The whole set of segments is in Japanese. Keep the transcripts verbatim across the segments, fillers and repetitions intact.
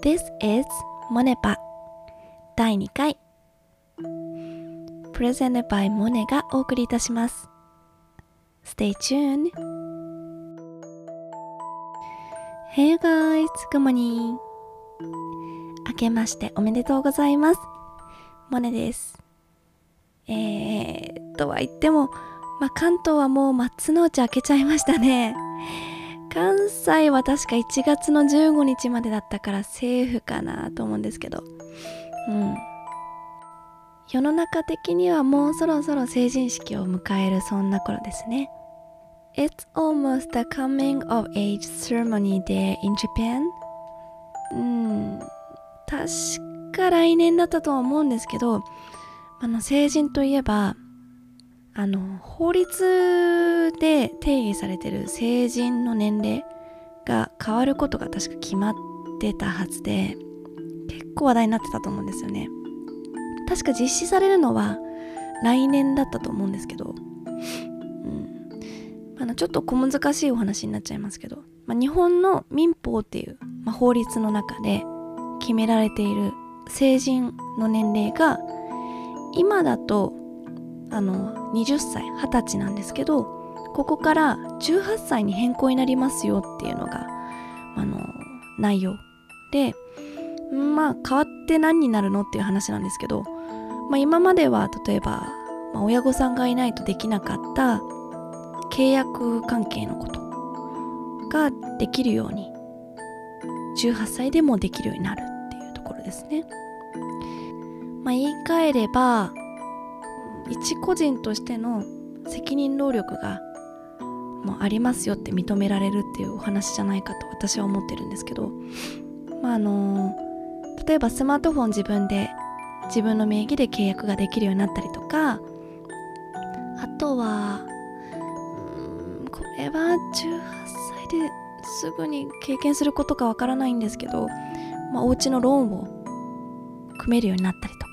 This is モネパだいにかい Presented by モネがお送りいたします。 Stay tuned. Hey you guys, good morning. 明けましておめでとうございます。モネです。えーとは言っても、まあ、関東はもう松の内明けちゃいましたね。関西は確かいちがつのじゅうごにちまでだったからセーフかなと思うんですけど、うん、世の中的にはもうそろそろ成人式を迎えるそんな頃ですね。 It's almost the coming of age ceremony day in Japan. うん、確か来年だったとは思うんですけど、あの成人といえばあの法律で定義されている成人の年齢が変わることが確か決まってたはずで、結構話題になってたと思うんですよね。確か実施されるのは来年だったと思うんですけど、うん、あのちょっと小難しいお話になっちゃいますけど、まあ、日本の民法っていう、まあ、法律の中で決められている成人の年齢が今だとあのはたちはたちなんですけど、ここからじゅうはっさいに変更になりますよっていうのがあの内容で、まあ変わって何になるのっていう話なんですけど、まあ、今までは例えば、まあ、親御さんがいないとできなかった契約関係のことができるようにじゅうはっさいでもできるようになるっていうところですね。まあ、言い換えれば一個人としての責任能力がもうありますよって認められるっていうお話じゃないかと私は思ってるんですけど、まああの例えばスマートフォン自分で自分の名義で契約ができるようになったりとか、あとはうーんこれはじゅうはっさいですぐに経験することかわからないんですけど、まあ、お家のローンを組めるようになったりとか、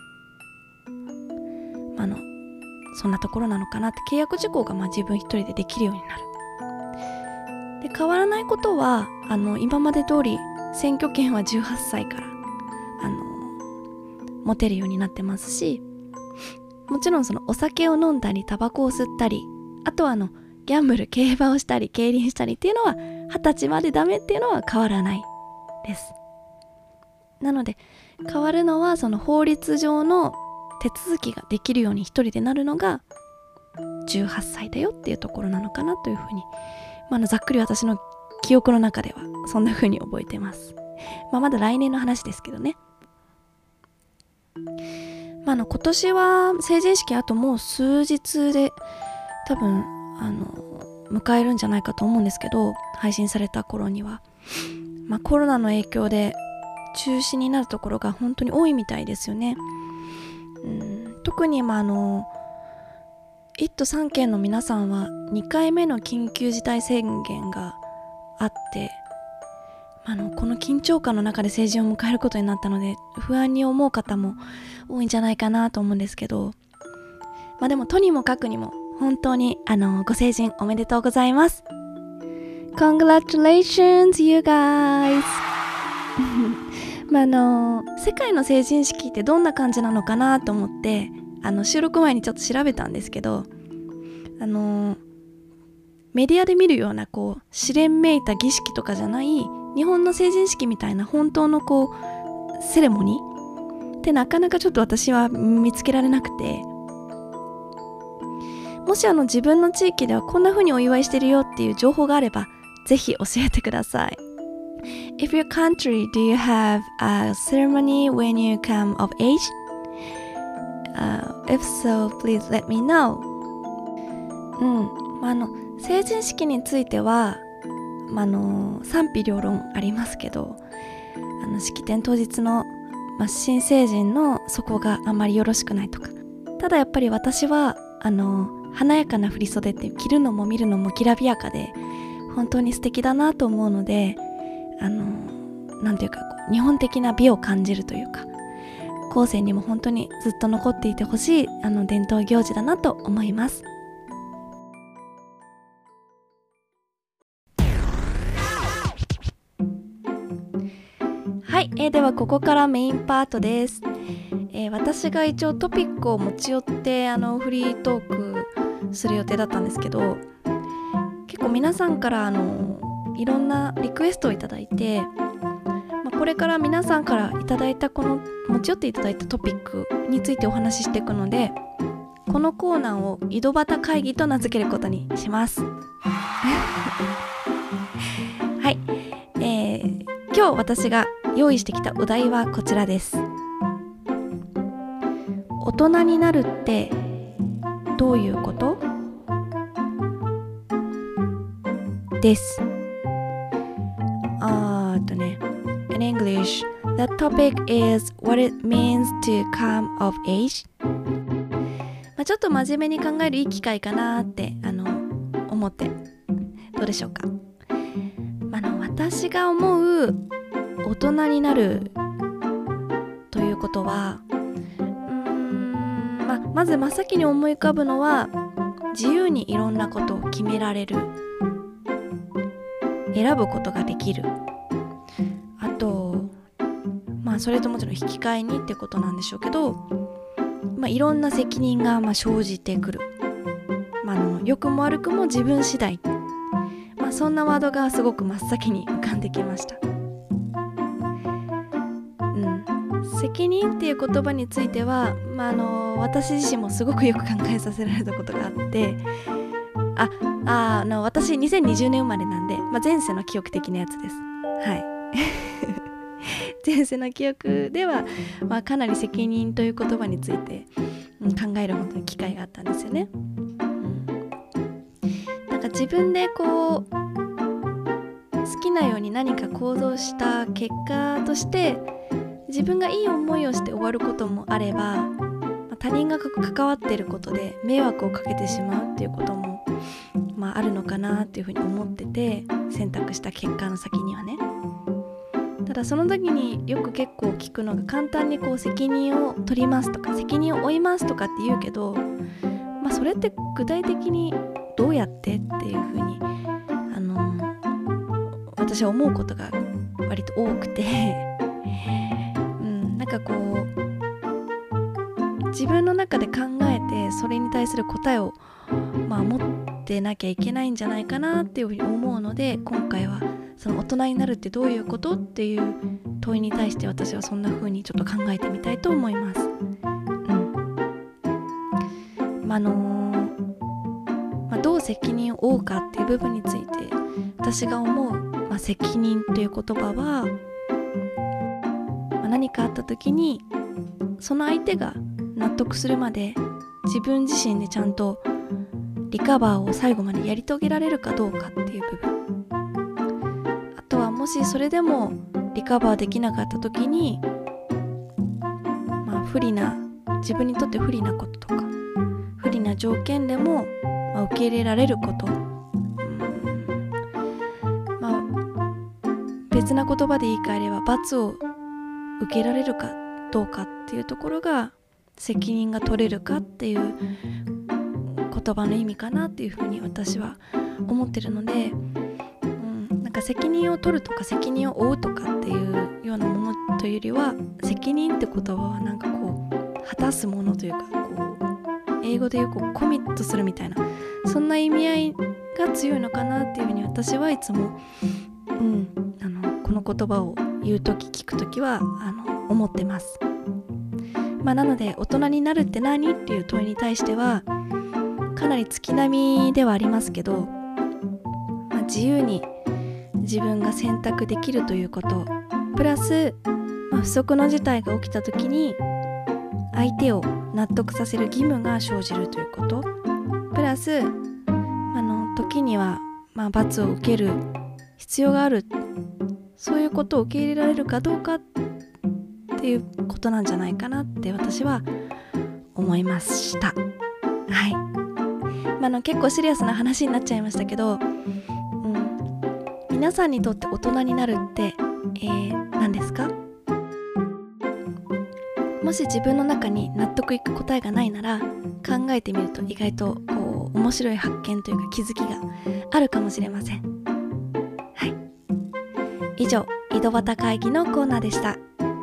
あのそんなところなのかなって、契約事項がまあ自分一人でできるようになる。で変わらないことはあの今まで通り選挙権はじゅうはっさいからあの持てるようになってますし、もちろんそのお酒を飲んだりタバコを吸ったり、あとはあのギャンブル、競馬をしたり競輪したりっていうのははたちまでダメっていうのは変わらないです。なので変わるのはその法律上の手続きができるように一人でなるのがじゅうはっさいだよっていうところなのかなというふうに、まあ、のざっくり私の記憶の中ではそんなふうに覚えてます。まあ、まだ来年の話ですけどね。まあ、の今年は成人式あともう数日で多分あの迎えるんじゃないかと思うんですけど、配信された頃には、まあ、コロナの影響で中止になるところが本当に多いみたいですよね。うん、特に、まあ、あのいっとさんけんの皆さんはにかいめの緊急事態宣言があって、あのこの緊張感の中で成人を迎えることになったので不安に思う方も多いんじゃないかなと思うんですけど、まあ、でもとにもかくにも本当にあのご成人おめでとうございます。 Congratulations you guys まあ、あの世界の成人式ってどんな感じなのかなと思ってあの収録前にちょっと調べたんですけど、あのメディアで見るようなこう試練めいた儀式とかじゃない日本の成人式みたいな本当のこうセレモニーってなかなかちょっと私は見つけられなくて、もしあの自分の地域ではこんな風にお祝いしてるよっていう情報があればぜひ教えてください。If your country, do you have a ceremony when you come of age? Uh, if so, please let me know. うん、まあ、あの成人式については、まあ、あの賛否両論ありますけど、あの式典当日の、まあ、新成人のそこがあまりよろしくないとか、ただやっぱり私はあの華やかな振り袖って着るのも見るのもきらびやかで本当に素敵だなと思うので、あのなんていうかこう日本的な美を感じるというか、後世にも本当にずっと残っていてほしいあの伝統行事だなと思います。 はい、えー、ではここからメインパートです。えー、私が一応トピックを持ち寄ってあのフリートークする予定だったんですけど、結構皆さんからあのいろんなリクエストをいただいて、まあ、これから皆さんからいただいたこの持ち寄っていただいたトピックについてお話ししていくので、このコーナーを井戸端会議と名付けることにします。はい、えー、今日私が用意してきたお題はこちらです。大人になるってどういうことです。あーっとね In English, the topic is what it means to come of age。 まあ、ちょっと真面目に考えるいい機会かなってあの思って、どうでしょうか。あの私が思う大人になるということは、うーん、ま、まず真っ先に思い浮かぶのは、自由にいろんなことを決められる、選ぶことができる、あとまあそれともちろん引き換えにってことなんでしょうけど、まあ、いろんな責任がまあ生じてくる、まあ、あの良くも悪くも自分次第、まあ、そんなワードがすごく真っ先に浮かんできました。責任っていう言葉については、まあ、あの私自身もすごくよく考えさせられたことがあって、あああの私にせんにじゅうねん生まれなんで、まあ、前世の記憶的なやつです。はい前世の記憶では、まあ、かなり責任という言葉について、うん、考える本当に機会があったんですよね。うん、なんか自分でこう好きなように何か行動した結果として自分がいい思いをして終わることもあれば、他人が関わっていることで迷惑をかけてしまうっていうことも、まあ、あるのかなっていうふうに思ってて、選択した結果の先にはね。ただその時によく結構聞くのが、簡単にこう責任を取りますとか責任を負いますとかって言うけど、まあ、それって具体的にどうやってっていうふうにあの私は思うことが割と多くてなんかこう自分の中で考えてそれに対する答えを、まあ、持ってなきゃいけないんじゃないかなっていうふうに思うので、今回はその大人になるってどういうことっていう問いに対して私はそんな風にちょっと考えてみたいと思います。うん。まあのまあ、どう責任を負うかっていう部分について私が思う、まあ、責任という言葉は、何かあった時にその相手が納得するまで自分自身でちゃんとリカバーを最後までやり遂げられるかどうかっていう部分、あとはもしそれでもリカバーできなかった時に、まあ不利な自分にとって不利なこととか不利な条件でも、まあ、受け入れられること、うん、まあ別な言葉で言い換えれば罰を受けられるかどうかっていうところが責任が取れるかっていう言葉の意味かなっていうふうに私は思ってるので、うん、なんか責任を取るとか責任を負うとかっていうようなものというよりは、責任って言葉はなんかこう果たすものというか、こう英語でいうこうコミットするみたいな、そんな意味合いが強いのかなっていうふうに私はいつも、うん、あのこの言葉を言うとき聞くときはあの思ってます。まあ、なので大人になるって何っていう問いに対してはかなり月並みではありますけど、まあ、自由に自分が選択できるということプラス、まあ、不測の事態が起きたときに相手を納得させる義務が生じるということプラス、あの時にはまあ罰を受ける必要がある、そういうことを受け入れられるかどうかっていうことなんじゃないかなって私は思いました。はい。まあ、あの結構シリアスな話になっちゃいましたけど、うん、皆さんにとって大人になるって、えー、何ですか？もし自分の中に納得いく答えがないなら考えてみると意外とこう面白い発見というか気づきがあるかもしれません。はい。以上、 井戸端会議のコーナーでした。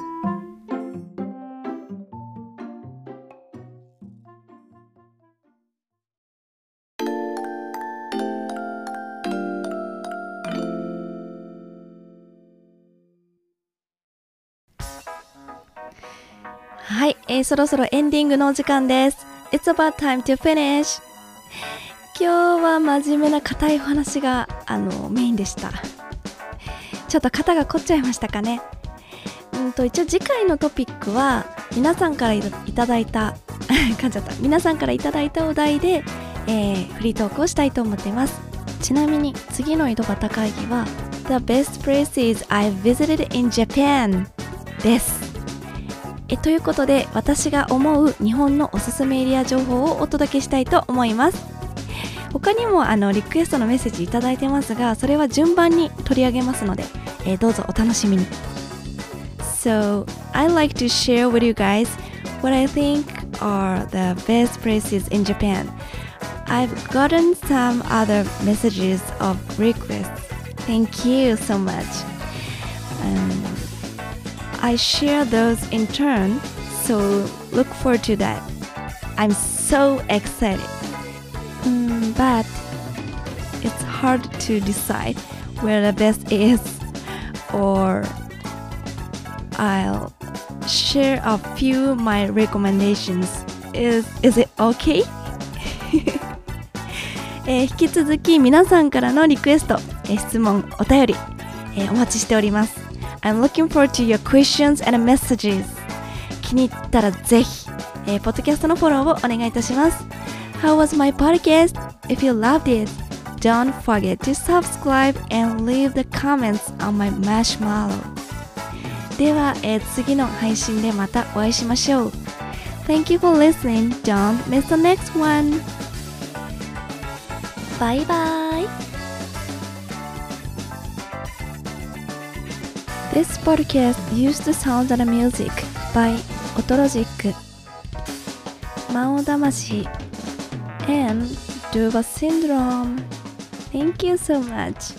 はい、えー、そろそろエンディングのお時間です。It's about time to finish。 今日は真面目な硬いお話があのメインでした。ちょっと肩が凝っちゃいましたかね。うんと一応次回のトピックは皆さんからいただいた噛んじゃった皆さんからいただいたお題で、えー、フリートークをしたいと思っています。ちなみに次の井戸端会議は The best places I visited in Japan です。えということで私が思う日本のおすすめエリア情報をお届けしたいと思います。他にもあのリクエストのメッセージいただいてますが、それは順番に取り上げますので、えー、どうぞお楽しみに。So, I'd like to share with you guys what I think are the best places in Japan. I've gotten some other messages of requests. Thank you so much. Um, I share those in turn, so look forward to that. I'm so excited. Mm, but it's hard to decide where the best is, or I'll share a few my recommendations. Is, is it okay? えー、引き続き皆さんからのリクエスト、えー、質問、お便り、えー、お待ちしております。I'm looking forward to your questions and messages. 気に入ったらぜひ、えー、ポッドキャストのフォローをお願いいたします。How was my podcast? If you loved it, don't forget to subscribe and leave the comments on my marshmallow. では、えー、次の配信でまたお会いしましょう。Thank you for listening. Don't miss the next one. Bye bye. This podcast used the sound and music by Otologic, Mao Damashi, and Duva Syndrome. Thank you so much.